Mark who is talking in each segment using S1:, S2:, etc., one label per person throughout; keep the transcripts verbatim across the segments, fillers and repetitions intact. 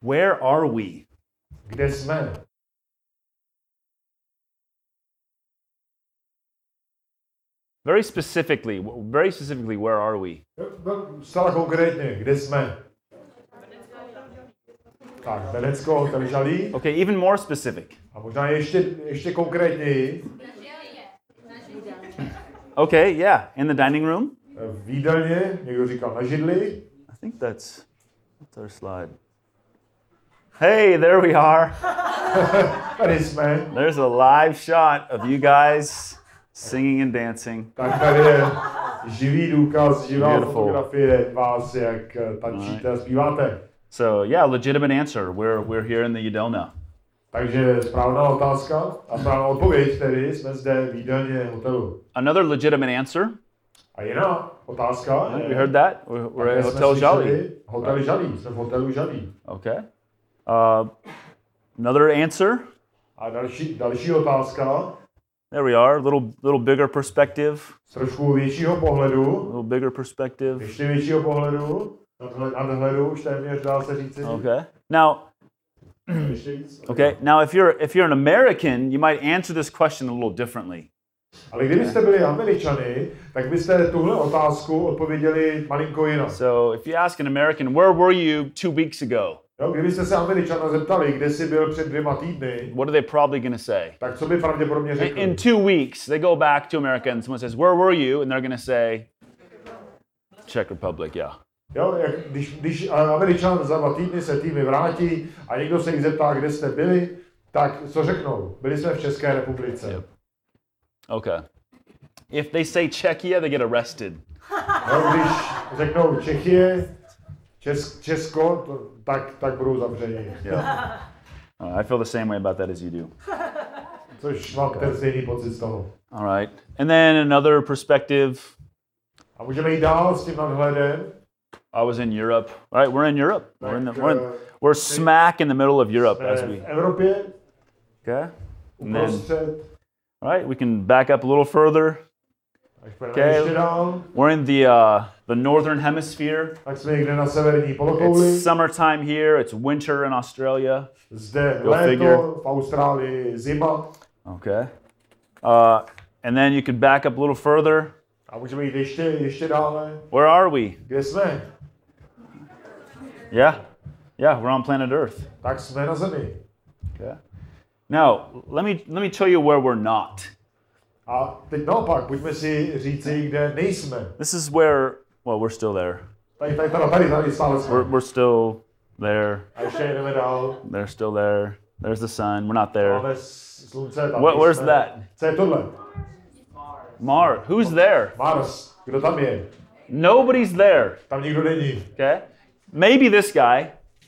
S1: Where are we?
S2: Kde jsme?
S1: Very specifically, very specifically, where are we?
S2: Zcela konkrétně, kde jsme? Tak, Benecko, hotel Žalí.
S1: Okay, even more specific.
S2: A možná ještě, ještě konkrétněji.
S1: Okay, yeah, in the dining room.
S2: V jídelně, někdo říkal na židli.
S1: I think that's, that's our slide. Hey, there we are.
S2: Tady jsme.
S1: There's a live shot of you guys singing and dancing.
S2: Tak tady je živý důkaz, živá
S1: Beautiful.
S2: fotografie vás, jak tančíte a zpíváte.
S1: So yeah, legitimate answer. We're we're here in the Jidelna.
S2: Takže správná otázka a správná odpověď tedy, jsme zde v jídelně hotelu.
S1: Another legitimate answer.
S2: A jiná otázka.
S1: Yeah,
S2: je,
S1: we heard that. We're, we're at Hotel Žalí.
S2: Hotel Žalí, jsme v hotelu Žalí.
S1: Okay. Uh, another answer.
S2: A další, další otázka.
S1: There we are. Little little bigger perspective.
S2: Z trošku většího pohledu.
S1: Little bigger perspective.
S2: Ještě většího pohledu. Nadhledu, už téměř dá se říci.
S1: Okay. Now. Okay. Now, if you're if you're an American, you might answer this question a little differently.
S2: Ale kdybyste byli Američany, tak byste tuhle otázku odpověděli malinko jinak.
S1: So, if you ask an American, where were you two weeks ago?
S2: Jo, kdybyste se Američana zeptali, kde jsi byl před dvěma týdny,
S1: what are they probably going to say?
S2: Tak co by pravděpodobně řekli?
S1: In, in two weeks, they go back to America and someone says, where were you? And they're going to say, Czech Republic, yeah.
S2: Jo, jak, když, když Američan za dva týdny se týmy vrátí a někdo se jich zeptá, kde jste byli, tak co řeknou? Byli jsme v České republice.
S1: Yep. Okay. If they say Czechia, they get arrested.
S2: Jo, když řeknou Čechie, Čes, Česko, to, tak, tak budou zavřeni.
S1: Yeah. Uh, I feel the same way about that as you do.
S2: Což mám ten stejný pocit z toho.
S1: All right. And then another perspective.
S2: A můžeme jít dál s tím nadhledem.
S1: I was in Europe. Right, we're in Europe. We're in the, we're, in, we're smack in the middle of Europe as we.
S2: V Evropě.
S1: Okay.
S2: Uprostřed.
S1: All right, we can back up a little further.
S2: Okay.
S1: We're in the uh, the northern hemisphere.
S2: Tak jsme někde na severní polokouli.
S1: It's summertime here. It's winter in Australia.
S2: Zde
S1: Go
S2: léto,
S1: figure.
S2: v Austrálii zima.
S1: Okay. Uh, and then you can back up a little further.
S2: A můžeme jít ještě, ještě dále.
S1: Where are we?
S2: Kde jsme?
S1: Yeah. Yeah, we're on planet Earth.
S2: Tak jsme na Zemi.
S1: Okay. Now, let me let me tell you where we're not.
S2: A teď naopak, pojďme si říci, kde nejsme.
S1: This is where, well, we're still there.
S2: Tady, tady, tady, tady, tady stále jsme.
S1: We're, we're still there.
S2: A ještě jdeme dál.
S1: They're still there. There's the sun. We're not there.
S2: Máme slunce, tam
S1: What, where's
S2: jsme.
S1: that?
S2: Co je tohle?
S1: Mars. Who's there?
S2: Mars. Kdo tam je?
S1: Nobody's there.
S2: Tam nikdo není.
S1: Okay. Maybe this guy.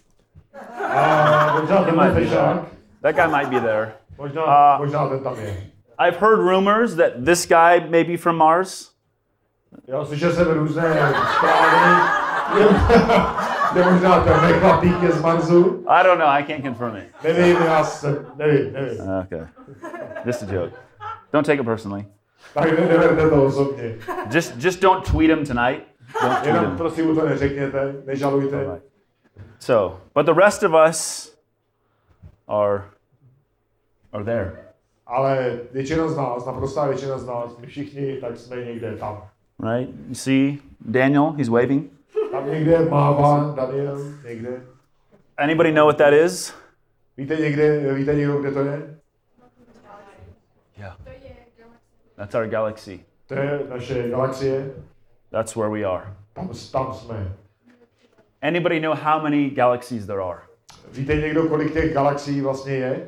S2: A možná
S1: He
S2: ten
S1: might be
S2: fešák.
S1: there. That guy might be there.
S2: Možná,
S1: Uh,
S2: možná ten tam je.
S1: I've heard rumors that this guy may be from Mars.
S2: Jo, slyšel jsem různé zprávy. Je možná ten nechlapík je z Marsu.
S1: I don't know. I can't confirm it.
S2: Nevím, já jsem, nevím, nevím.
S1: Okay. Just a joke. Don't take it personally.
S2: Tak ne, neberte to osobně.
S1: Just just don't tweet him tonight. Don't tweet
S2: Jenom
S1: him.
S2: prosím mu to neřekněte, nežalujte.
S1: All right. So, but the rest of us are are there.
S2: Ale většina z nás, naprostá většina z nás, my všichni, tak jsme někde tam.
S1: Right? You see Daniel, he's waving.
S2: Tam někde mává Daniel, někde.
S1: Anybody know what that is?
S2: Víte někde, víte někdo, kde to je?
S1: Yeah. That's our galaxy.
S2: To je naše galaxie.
S1: That's where we are.
S2: Tam, tam jsme.
S1: Anybody know how many galaxies there are?
S2: Víte někdo, kolik těch galaxií vlastně je?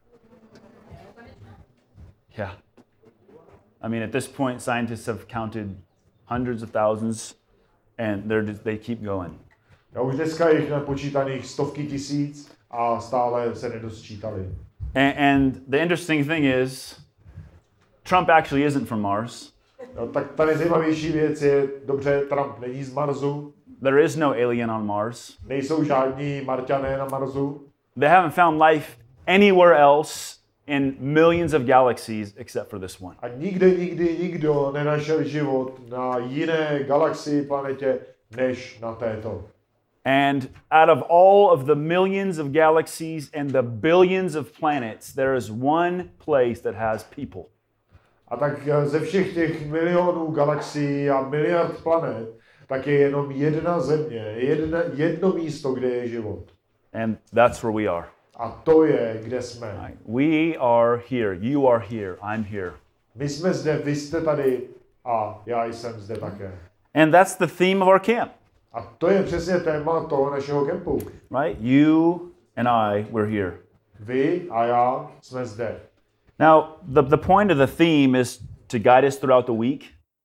S1: Yeah. I mean, at this point, scientists have counted hundreds of thousands, and they're just, they keep going.
S2: Já už dneska jich napočítaných stovky tisíc a stále se nedosčítali.
S1: And, and the interesting thing is, Trump actually isn't from Mars.
S2: No, tak ta nejzajímavější věc je, dobře, Trump není z Marsu,
S1: There is no alien on Mars.
S2: nejsou žádní Marťané na Marsu.
S1: They haven't found life anywhere else in millions of galaxies except for this one.
S2: A nikde, nikdy, nikdo nenašel život na jiné galaxii, planetě, než na této.
S1: And out of all of the millions of galaxies and the billions of planets, there is one place that has people.
S2: A tak ze všech těch milionů galaxií a miliard planet, tak je jenom jedna země, jedna, jedno místo, kde je život.
S1: And that's where we are.
S2: A to je, kde jsme.
S1: Right? We are here. You are here. I'm here.
S2: My jsme zde, vy jste tady a já jsem zde také.
S1: And that's the theme of our camp.
S2: A to je přesně téma toho našeho kempu.
S1: Right? You and I, we're here.
S2: Vy a já jsme zde.
S1: Now, the, the point of the theme is to guide us throughout the week.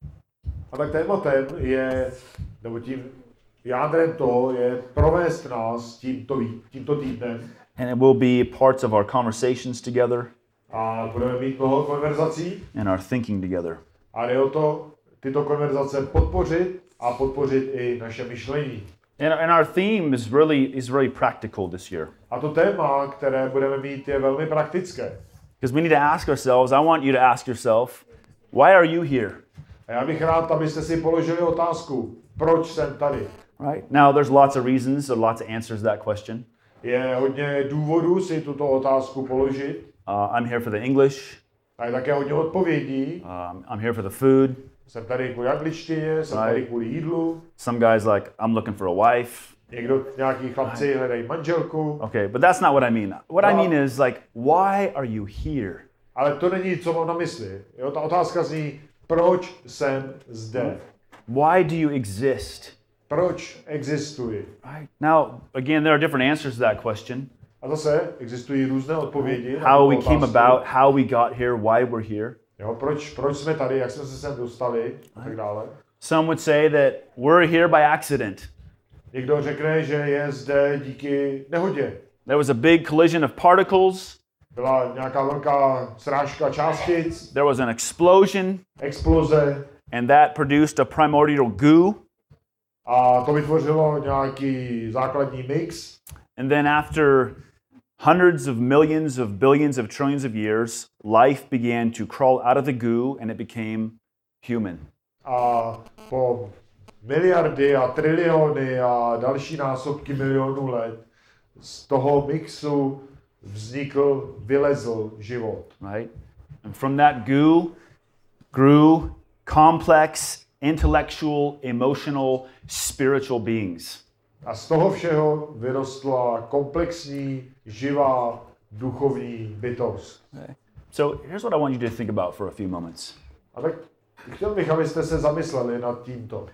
S2: A tak tématem je, nebo tím jádrem toho je provést nás tímto, tímto týdnem.
S1: And it will be parts of our conversations together
S2: A budeme mít mnoho konverzací.
S1: and our thinking together.
S2: A jde o to, tyto konverzace podpořit a podpořit i naše myšlení.
S1: And, and our theme is really is really practical this year.
S2: A to téma, které budeme mít, je velmi praktické.
S1: Because we need to ask ourselves, I want you to ask yourself, why are you here?
S2: A já bych rád, abyste si položili otázku, proč jsem tady?
S1: Right? Now, there's lots of reasons, there are lots of answers to that question.
S2: Je hodně důvodů si tuto otázku položit.
S1: Uh, I'm here for the English.
S2: A je také hodně odpovědí.
S1: Um, I'm here for the food.
S2: Jsem tady kvůli angličtině, jsem tady kvůli jídlu.
S1: Some guys like, I'm looking for a wife.
S2: Někdo, nějaký chlapci hledají manželku.
S1: Okay, but that's not what I mean. What I mean is like, why are you here?
S2: Ale to není, co mám na mysli. Jo, ta otázka zní, proč jsem zde?
S1: Why do you exist?
S2: Proč existuji?
S1: Right. Now, again, there are different answers to that question.
S2: A zase existují různé odpovědi.
S1: How we came about, how we got here, why we're here.
S2: Jo, proč, proč jsme tady, jak jsme se sem dostali a tak dále.
S1: Some would say that we're here by accident.
S2: Někdo řekne, že je zde díky nehodě.
S1: There was a big collision of particles.
S2: Byla nějaká velká srážka částic,
S1: There was an explosion,
S2: exploze
S1: and that produced a primordial goo.
S2: a to vytvořilo nějaký základní mix.
S1: And then after hundreds of millions of billions of trillions of years, life began to crawl out of the goo and it became human.
S2: A po miliardy a triliony a další násobky milionů let z toho mixu vznikl, vylezl život.
S1: Right? And from that goo grew complex, intellectual, emotional, spiritual beings.
S2: A z toho všeho vyrostla komplexní, živá, duchovní bytost.
S1: Okay. So here's what I want you to think about for a few moments.
S2: A tak chtěl bych, abyste se zamysleli nad tímto.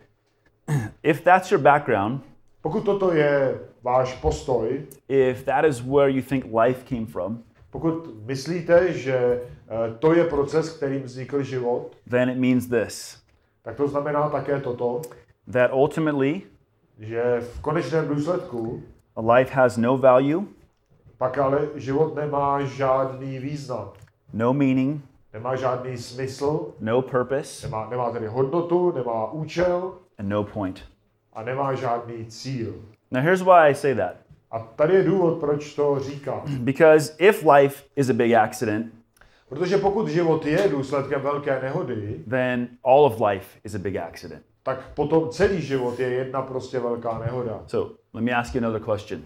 S1: If that's your background,
S2: Pokud toto je váš postoj,
S1: if that is where you think life came from,
S2: pokud myslíte, že eh, to je proces, kterým vznikl život,
S1: then it means this,
S2: tak to znamená také toto,
S1: that ultimately
S2: že v konečném důsledku
S1: a life has no value,
S2: pak ale život nemá žádný význam,
S1: no meaning,
S2: nemá žádný smysl,
S1: no purpose,
S2: nemá, nemá tedy hodnotu, nemá účel
S1: and no point.
S2: a nemá žádný cíl.
S1: Now here's why I say that.
S2: A tady je důvod, proč to říkám.
S1: Because if life is a big accident,
S2: Protože pokud život je důsledkem velké nehody,
S1: then all of life is a big accident.
S2: tak potom celý život je jedna prostě velká nehoda.
S1: So let me ask you another question.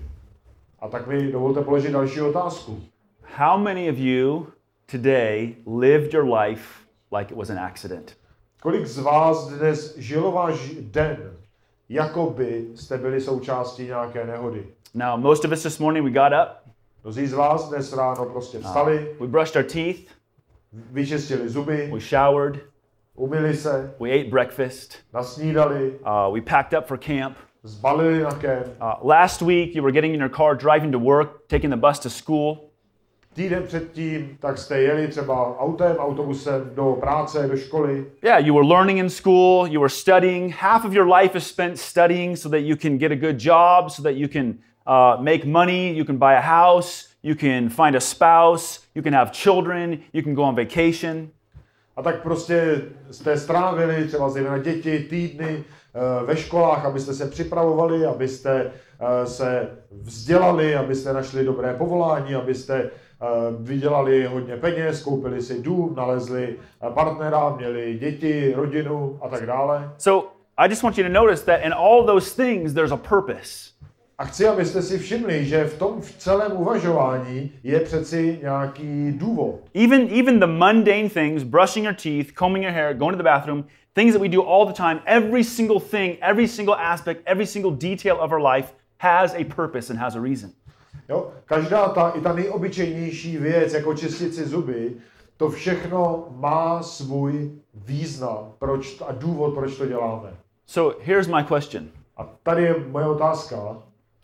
S2: A tak mi dovolte položit další otázku.
S1: How many of you today lived your life like it was an accident?
S2: Kolik z vás dnes žilo váš den, jako by jste byli součástí nějaké nehody?
S1: Now, most of us this morning, we got up,
S2: Mnozí z vás dnes ráno prostě vstali,
S1: we brushed our teeth,
S2: vyčistili zuby,
S1: we showered,
S2: umyli se,
S1: we ate breakfast,
S2: nasnídali,
S1: uh, we packed up for camp.
S2: zbalili na kemp.
S1: Uh, last week, you were getting in your car, driving to work, taking the bus to school.
S2: Týden předtím, tak jste jeli třeba autem, autobusem do práce, do školy.
S1: Yeah, you were learning in school, you were studying. Half of your life is spent studying so that you can get a good job, so that you can uh, make money, you can buy a house, you can find a spouse, you can have children, you can go on vacation.
S2: A tak prostě jste strávili třeba zejména děti týdny uh, ve školách, abyste se připravovali, abyste uh, se vzdělali, abyste našli dobré povolání, abyste uh, vydělali hodně peněz, koupili si dům, nalezli uh, partnera, měli děti, rodinu a tak dále.
S1: So I just want you to notice that in all those things, there's a purpose.
S2: A chci, abyste si všimli, že v tom v celém uvažování je přeci nějaký důvod.
S1: Even, even the mundane things, brushing your teeth, combing your hair, going to the bathroom, things that we do all the time, every single thing, every single aspect, every single detail of our life has a purpose and has a reason.
S2: Jo? Každá ta, i ta nejobyčejnější věc, jako čistit si zuby, to všechno má svůj význam proč, a důvod, proč to děláme.
S1: So here's my question.
S2: A tady je moje otázka.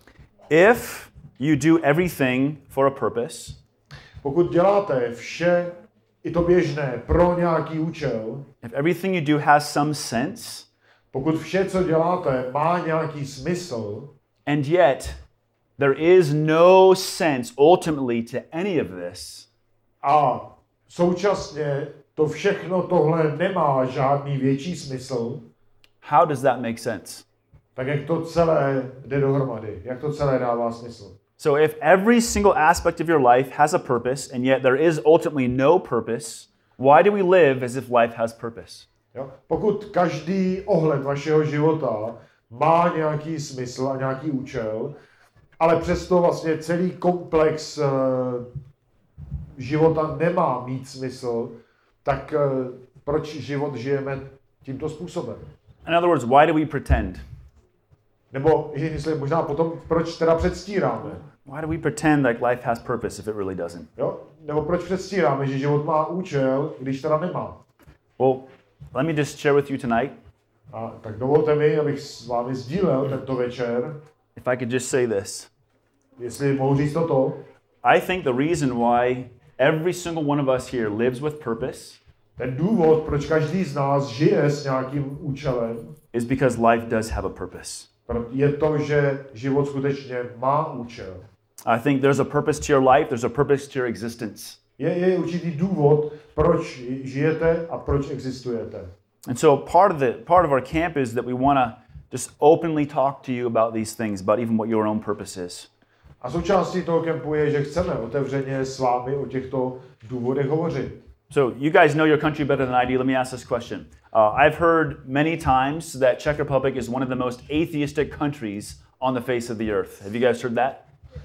S1: If you do everything for a purpose,
S2: Pokud děláte vše, i to běžné, pro nějaký účel,
S1: if everything you do has some sense,
S2: pokud vše, co děláte, má nějaký smysl,
S1: and yet there is no sense ultimately to any of this,
S2: a současně to všechno tohle nemá žádný větší smysl,
S1: how does that make sense?
S2: tak jak to celé jde dohromady, jak to celé dává smysl.
S1: So if every single aspect of your life has a purpose, and yet there is ultimately no purpose, why do we live as if life has purpose?
S2: Jo? Pokud každý ohled vašeho života má nějaký smysl a nějaký účel, ale přesto vlastně celý komplex uh, života nemá mít smysl, tak uh, proč život žijeme tímto způsobem?
S1: In other words, why do we pretend?
S2: Nebo jestli možná potom, proč teda předstíráme?
S1: Why do we pretend like life has purpose if it really doesn't?
S2: Jo? Nebo proč předstíráme, že život má účel, když teda nemá?
S1: Well, let me just share with you tonight,
S2: A tak dovolte mi, abych s vámi sdílel tento večer,
S1: if I could just say this.
S2: jestli mohu říct toto.
S1: I think the reason why every single one of us here lives with purpose
S2: Ten důvod, proč každý z nás žije s nějakým účelem,
S1: is because life does have a purpose.
S2: je to, že život skutečně má účel.
S1: I think there's a purpose to your life, there's a purpose to your existence.
S2: Je, je určitý důvod, proč žijete a proč existujete.
S1: And so part of the part of our camp is that we want to just openly talk to you about these things, about even what your own purpose is.
S2: A součástí toho kempu je, že chceme otevřeně s vámi o těchto důvodech hovořit.
S1: So you guys know your country better than I do. Let me ask this question. Uh, I've heard many times that Czech Republic is one of the most atheistic countries on the face of the earth. Have you guys heard that?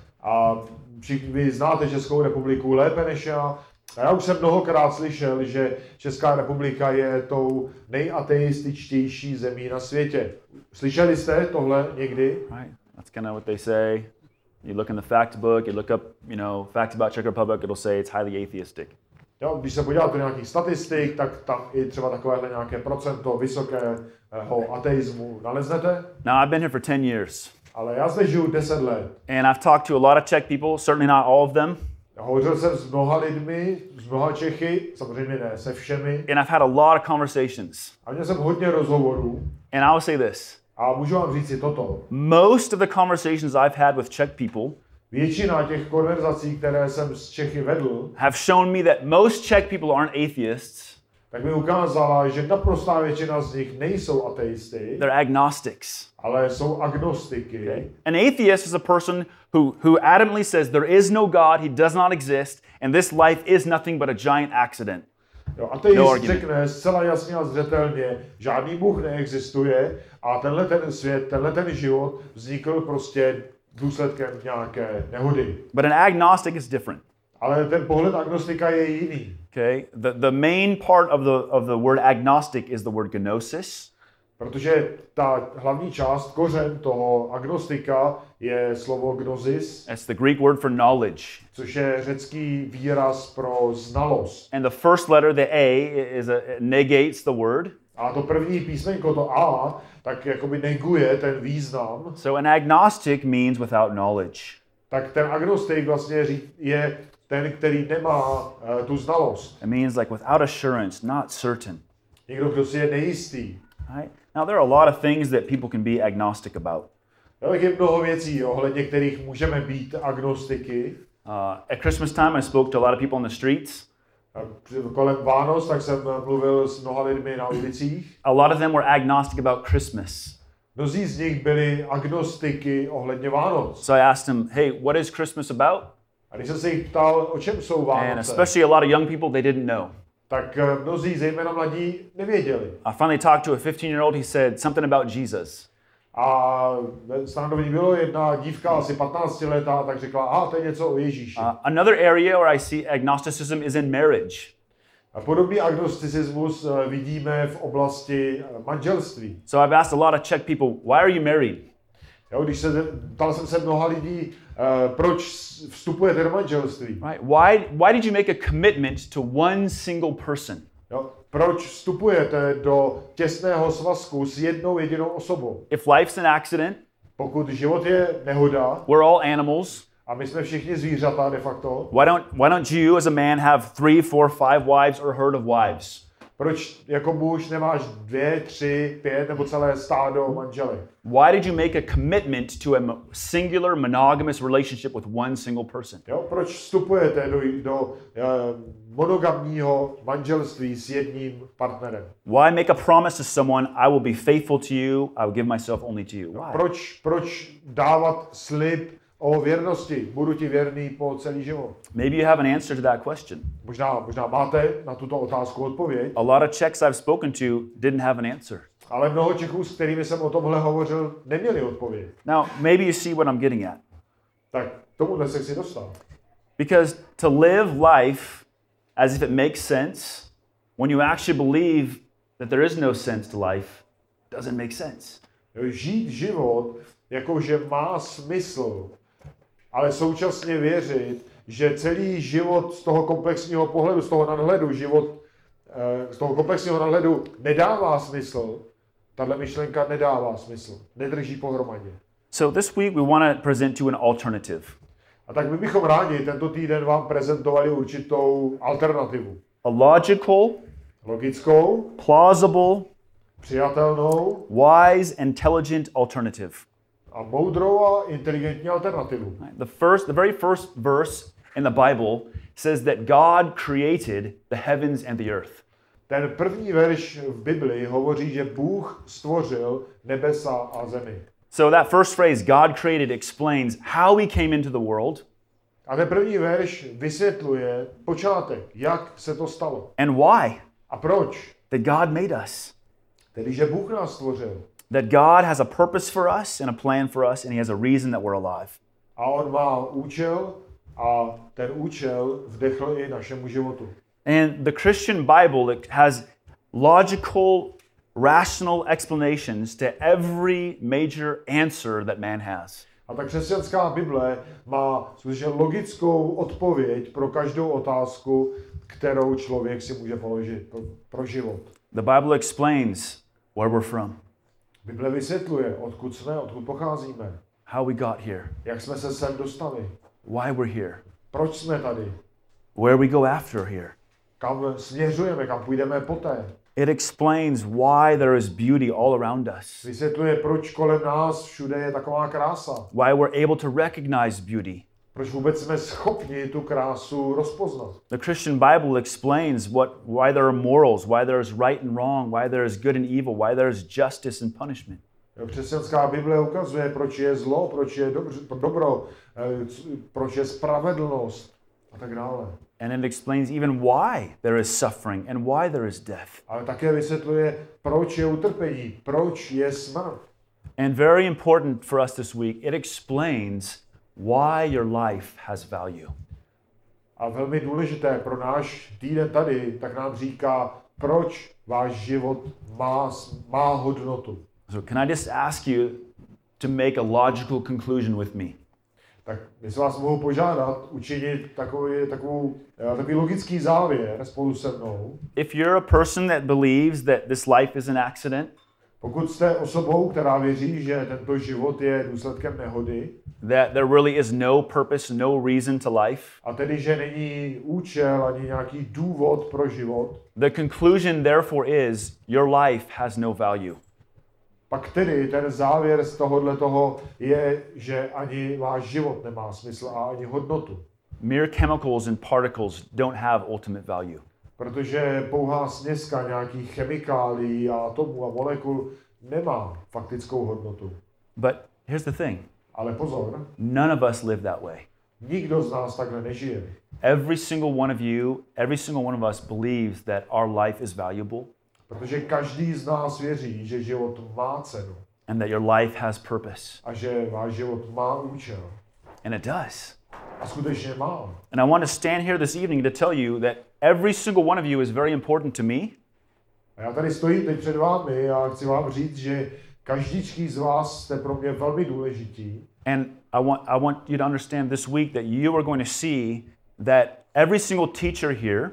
S2: A všichni vy znáte Českou republiku lépe než já. A já už jsem mnohokrát slyšel, že Česká republika je tou nejateističtější zemí na světě. Slyšeli jste tohle někdy?
S1: Right. That's kind of what they say. You look in the fact book, you look up, you know, facts about Czech Republic, it'll say it's highly atheistic.
S2: Jo, když se podíváte do nějakých statistik, tak tam i třeba takovéhle nějaké procento vysokého ateismu naleznete.
S1: Now, I've been here for ten years,
S2: Ale já zde žiju deset let.
S1: and I've talked to a lot of Czech people, certainly not all of them,
S2: Hovořil jsem s mnoha lidmi, s mnoha Čechy, samozřejmě ne se všemi.
S1: and I've had a lot of conversations.
S2: A měl jsem hodně rozhovorů.
S1: And I will say this.
S2: A můžu vám říct si toto.
S1: Most of the conversations I've had with Czech people
S2: Většina těch konverzací, které jsem s Čechy vedl,
S1: have shown me that most Czech people aren't atheists,
S2: tak mi ukázala, že naprostá většina z nich nejsou ateisty,
S1: they're agnostics.
S2: ale jsou agnostiky.
S1: Okay? An atheist is a person who, who adamantly says there is no God, he does not exist, and this life is nothing but a giant accident.
S2: Jo, ateist
S1: No
S2: no
S1: argument.
S2: řekne zcela jasně a zřetelně, žádný Bůh neexistuje a tenhle ten svět, tenhle ten život vznikl prostě důsledkem nějaké nehody.
S1: But an agnostic is different.
S2: Ale ten pohled agnostika je jiný.
S1: Okay? The, the main part of the, of the word agnostic is the word gnosis.
S2: Protože ta hlavní část, kořen toho agnostika je slovo gnosis,
S1: That's the Greek word for knowledge.
S2: což je řecký výraz pro znalost.
S1: And the first letter, the A, is a, negates the word.
S2: A to první písmenko, to A, tak jakoby neguje ten význam.
S1: So an agnostic means without knowledge.
S2: Tak ten agnostik vlastně ří- je ten, který nemá uh, tu znalost.
S1: It means like without assurance, not certain.
S2: Někdo, kdo si je nejistý.
S1: Right? Now there are a lot of things that people can be agnostic about.
S2: Jo, tak je mnoho věcí, ohledně kterých můžeme být agnostiky.
S1: Uh, at Christmas time, I spoke to a lot of people on the streets.
S2: A při- kolem Vánoc, tak jsem mluvil s mnoha lidmi na ulicích.
S1: A lot of them were agnostic about Christmas.
S2: Mnozí z nich byli agnostiky ohledně Vánoc.
S1: So I asked them, hey, what is Christmas about?
S2: A když jsem se jich ptal, o čem jsou
S1: And
S2: Vánoce,
S1: especially a lot of young people, they didn't know.
S2: tak eh, mnozí, zejména mladí, nevěděli.
S1: I finally talked to a fifteen-year-old. He said something about Jesus.
S2: A ve stanovení bylo jedna dívka asi patnáctiletá, tak řekla, aha, to je něco o Ježíši.
S1: Uh, another area where I see agnosticism is in marriage.
S2: A podobný agnosticismus vidíme v oblasti manželství.
S1: So I've asked a lot of Czech people, why are you married?
S2: Jo, když se ptal jsem se mnoha lidí, uh, proč vstupujete do manželství?
S1: Right? Why, why did you make a commitment to one single person?
S2: Jo, proč vstupujete do těsného svazku s jednou jedinou osobou?
S1: If life's an accident,
S2: Pokud život je nehoda,
S1: we're all animals.
S2: a my jsme všichni zvířata de facto,
S1: Why don't, why don't you as a man have three, four, five wives or a herd of wives?
S2: proč jako muž nemáš dvě, tři, pět nebo celé stádo manželek?
S1: Why did you make a commitment to a mo- singular monogamous relationship with one single person?
S2: Jo, proč vstupujete do, do uh, monogamního manželství s jedním partnerem?
S1: Why make a promise to someone, I will be faithful to you, I will give myself only to you? Why?
S2: Proč, proč dávat slib o věrnosti? Budu ti věrný po celý život.
S1: Maybe you have an answer to that question.
S2: Možná, možná máte na tuto otázku odpověď,
S1: A lot of Czechs I've spoken to didn't have an answer.
S2: ale mnoho Čechů, s kterými jsem o tomhle hovořil, neměli odpověď.
S1: Now, maybe you see what I'm getting at.
S2: Tak tomuhle se chci dostat.
S1: Because to live life as if it makes sense, when you actually believe that there is no sense to life, doesn't make sense.
S2: Jo, žít život, jakože má smysl, ale současně věřit, že celý život z toho komplexního pohledu, z toho nadhledu, život eh, z toho komplexního nadhledu nedává smysl, tahle myšlenka nedává smysl, nedrží pohromadě.
S1: So this week we want to present you an alternative.
S2: A tak my bychom rádi tento týden vám prezentovali určitou alternativu.
S1: A logical,
S2: Logickou,
S1: plausible,
S2: přijatelnou
S1: wise, intelligent alternative.
S2: a moudrou a inteligentní alternativu.
S1: The first, the very first verse in the Bible says that God created the heavens and the earth.
S2: Ten první verš v Bibli hovoří, že Bůh stvořil nebesa a zemi.
S1: So that first phrase, God created, explains how we came into the world
S2: A ten první verš vysvětluje počátek, jak se to stalo.
S1: and why.
S2: A proč?
S1: That God made us.
S2: Tedy, že Bůh nás stvořil.
S1: That God has a purpose for us and a plan for us, and He has a reason that we're alive.
S2: A on má účel a ten účel vdechl i našemu životu.
S1: And the Christian Bible it has logical, rational explanations to every major answer that man has.
S2: A ta křesťanská Bible má skutečně logickou odpověď pro každou otázku, kterou člověk si může položit pro, pro život.
S1: The Bible explains where we're from,
S2: Bible vysvětluje, odkud jsme, odkud pocházíme,
S1: how we got here,
S2: jak jsme se sem dostali,
S1: why we're here,
S2: proč jsme tady,
S1: where we go after here.
S2: kam směřujeme, kam půjdeme poté.
S1: It explains why there is beauty all around us,
S2: Vysvětluje, proč kolem nás všude je taková krása.
S1: why we're able to recognize beauty.
S2: Proč vůbec jsme schopni tu krásu rozpoznat.
S1: The Christian Bible explains what, why there are morals, why there is right and wrong, why there is good and evil, why there is justice and punishment.
S2: Křesťanská Bible ukazuje, proč je zlo, proč je dobře, dobro, eh, c- proč je spravedlnost a tak dále.
S1: And it explains even why there is suffering and why there is death.
S2: Ale také vysvětluje, proč je utrpení, proč je smrt.
S1: And very important for us this week, it explains why your life has value.
S2: A velmi důležité pro náš týden tady, tak nám říká, proč váš život má, má hodnotu.
S1: So can I just ask you to make a logical conclusion with me?
S2: Tak jestli vás mohu požádat učinit takový, takovou, eh, takový logický závěr spolu se mnou.
S1: If you're a person that believes that this life is an accident,
S2: Pokud jste osobou, která věří, že tento život je důsledkem nehody,
S1: that there really is no purpose, no reason to life,
S2: a tedy, že není účel ani nějaký důvod pro život,
S1: the conclusion therefore is your life has no value.
S2: pak tedy ten závěr z tohohle toho je, že ani váš život nemá smysl a ani hodnotu.
S1: Mere chemicals and particles don't have ultimate value.
S2: Protože pouhá směska nějakých chemikálií a atomů a molekul nemá faktickou hodnotu.
S1: But here's the thing.
S2: Ale pozor,
S1: None of us live that way.
S2: nikdo z nás takhle nežije.
S1: Every single one of you, every single one of us believes that our life is valuable.
S2: Protože každý z nás věří, že život má cenu.
S1: and that your life has purpose.
S2: a že váš život má účel.
S1: And it does.
S2: A skutečně má.
S1: And I want to stand here this evening to tell you that every single one of you is very important to me.
S2: A já tady stojím teď před vámi a chci vám říct, že každý z vás jste pro mě velmi důležití.
S1: And I want, I want you to understand this week that you are going to see that every single teacher here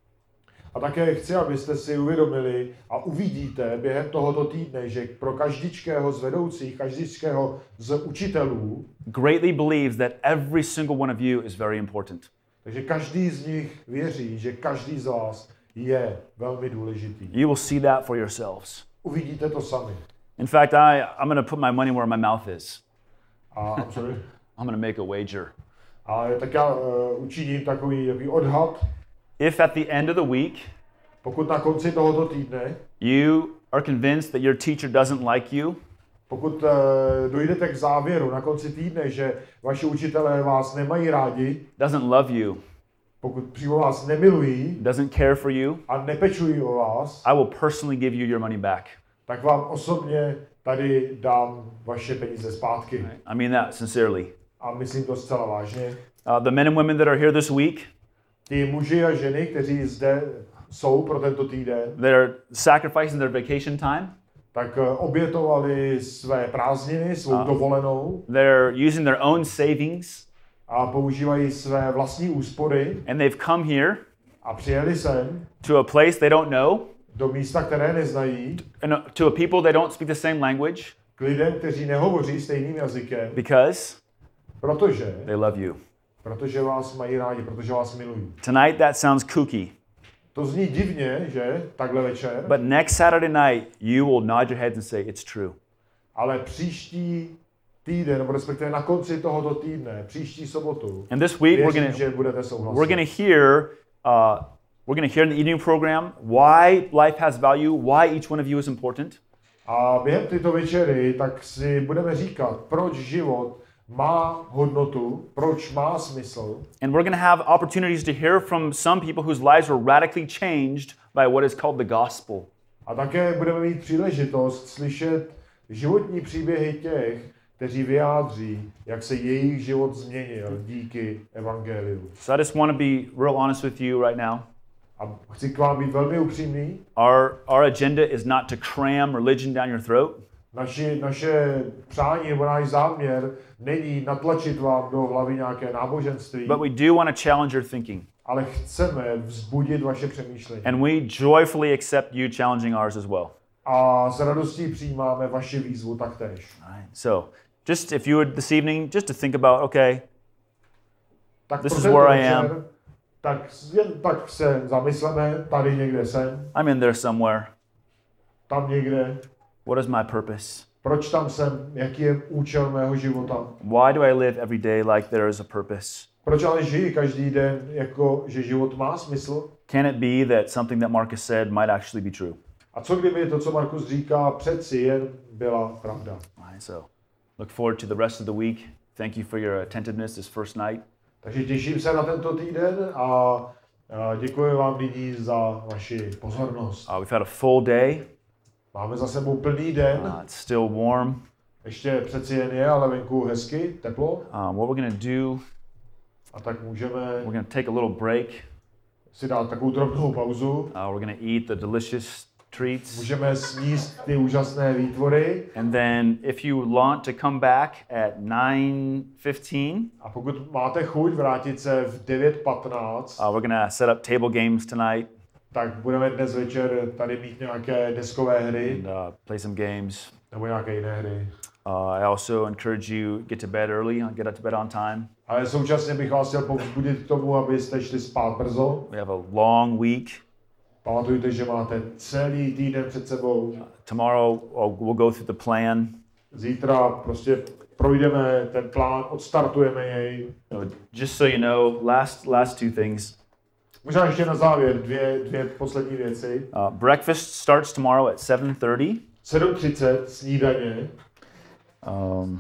S2: A také chci, abyste si uvědomili a uvidíte během tohoto týdne, že pro každičkého z vedoucích, každičkého z učitelů,
S1: greatly believes that every single one of you is very important.
S2: takže každý z nich věří, že každý z vás je velmi důležitý.
S1: You will see that for yourselves.
S2: Uvidíte to sami.
S1: In fact, I, I'm going to put my money where my mouth is.
S2: A, I'm sorry.
S1: I'm going to make a wager.
S2: A tak já uh, učiním takový, takový odhad.
S1: If at the end of the week
S2: Pokud na konci tohoto týdne,
S1: you are convinced that your teacher doesn't like you,
S2: pokud uh, dojdete k závěru na konci týdne, že vaši učitelé vás nemají rádi,
S1: doesn't love you,
S2: pokud přímo vás nemilují
S1: doesn't care for you,
S2: a nepečují o vás,
S1: I will personally give you your money back.
S2: tak vám osobně tady dám vaše peníze zpátky.
S1: I mean that sincerely.
S2: A myslím to zcela vážně.
S1: Uh, the men and women that are here this week,
S2: Ti muži a ženy, kteří zde jsou pro tento týden,
S1: they're sacrificing their vacation time.
S2: tak uh, obětovali své prázdniny, svou dovolenou
S1: They're using their own savings,
S2: a používají své vlastní úspory
S1: and they've come here
S2: a přijeli sem
S1: to a place they don't know,
S2: do místa, které neznají,
S1: and uh, to a people they don't speak the same language,
S2: k lidem, kteří nehovoří stejným jazykem,
S1: because
S2: protože,
S1: they love you.
S2: protože vás mají rádi, protože vás milují.
S1: Tonight that sounds kooky,
S2: To zní divně, že, takhle večer,
S1: but next Saturday night you will nod your heads and say it's true.
S2: ale příští týden, nebo respektive na konci tohoto týdne, příští sobotu,
S1: And this week we're
S2: věřím,
S1: gonna
S2: že budete souhlasit.
S1: we're gonna hear uh, we're gonna hear in the evening program why life has value, why each one of you is important.
S2: A během této večery tak si budeme říkat, proč život má hodnotu, proč má smysl.
S1: And we're going to have opportunities to hear from some people whose lives were radically changed by what is called the gospel.
S2: A také budeme mít příležitost slyšet životní příběhy těch, kteří vyjádří, jak se jejich život změnil díky evangeliu.
S1: So I just want to be real honest with you right now.
S2: A chci k vám být velmi upřímný.
S1: Our our agenda is not to cram religion down your throat.
S2: Naši, naše přání nebo náš záměr není natlačit vám do hlavy nějaké náboženství,
S1: But we do want to challenge your thinking.
S2: ale chceme vzbudit vaše přemýšlení.
S1: And we joyfully accept you challenging ours as well.
S2: A s radostí přijímáme vaši výzvu taktéž.
S1: All right. So, just if you would this evening just to think about, okay,
S2: Tak
S1: This
S2: pro
S1: is
S2: tento
S1: where I
S2: večer,
S1: am.
S2: Tak jen tak se zamysleme, tady někde jsem,
S1: I'm in there somewhere.
S2: tam někde,
S1: What is my purpose?
S2: proč tam jsem, jaký je účel mého života.
S1: Why do I live every day like there is a purpose?
S2: Proč ale žiji každý den, jako že život má smysl?
S1: Can it be that something that Marcus said might actually be true?
S2: A co kdyby to, co Markus říká, přeci jen byla pravda.
S1: All right, so look forward to the rest of the week. Thank you for your attentiveness this first night.
S2: Takže těším se na tento týden a a děkuji vám nyní za vaši pozornost.
S1: Uh, we've had a full day.
S2: Máme za sebou plný den,
S1: Uh, it's still warm.
S2: ještě přeci jen je, ale venku hezky, teplo.
S1: Um, what we're going to do,
S2: A tak můžeme
S1: we're going to take a little break.
S2: si dát takovou drobnou pauzu.
S1: Uh, we're going to eat the delicious treats.
S2: Můžeme sníst ty úžasné výtvory.
S1: And then if you want to come back at nine fifteen,
S2: A pokud máte chuť vrátit se v devět patnáct,
S1: uh, we're going to set up table games tonight
S2: tak budeme dnes večer tady mít nějaké deskové hry
S1: and uh, play some games.
S2: nebo nějaké jiné hry.
S1: Uh, I also encourage you get to bed early, get to bed on time.
S2: Ale současně bych vás chtěl povzbudit k tomu, abyste šli spát brzo.
S1: We have a long week.
S2: Pamatujte, že máte celý týden před sebou.
S1: Tomorrow uh, we'll go through the plan.
S2: Zítra prostě projdeme ten plán, odstartujeme jej.
S1: So just so you know, last last two things.
S2: Možná ještě na závěr dvě, dvě poslední věci.
S1: Uh, breakfast starts tomorrow at seven thirty.
S2: sedm třicet snídaně.
S1: Um,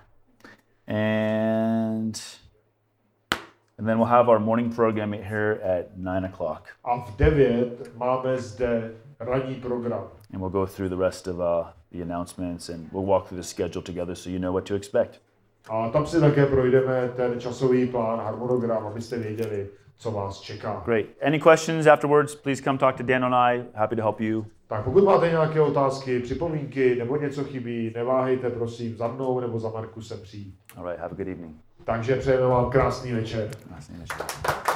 S1: and and then we'll have our morning program here at nine o'clock,
S2: A v devět máme zde ranní program.
S1: and we'll go through the rest of uh, the announcements, and we'll walk through the schedule together so you know what to expect.
S2: A tam si také projdeme ten časový plán, harmonogram, abyste věděli, co vás čeká.
S1: Great. Any questions afterwards? Please come talk to Dan and I. Happy to help you.
S2: Tak pokud máte nějaké otázky, připomínky nebo něco chybí, neváhejte prosím za mnou nebo za Markusem přijít.
S1: All right. Have a good evening.
S2: Takže přejeme vám krásný večer.
S1: Krásný večer.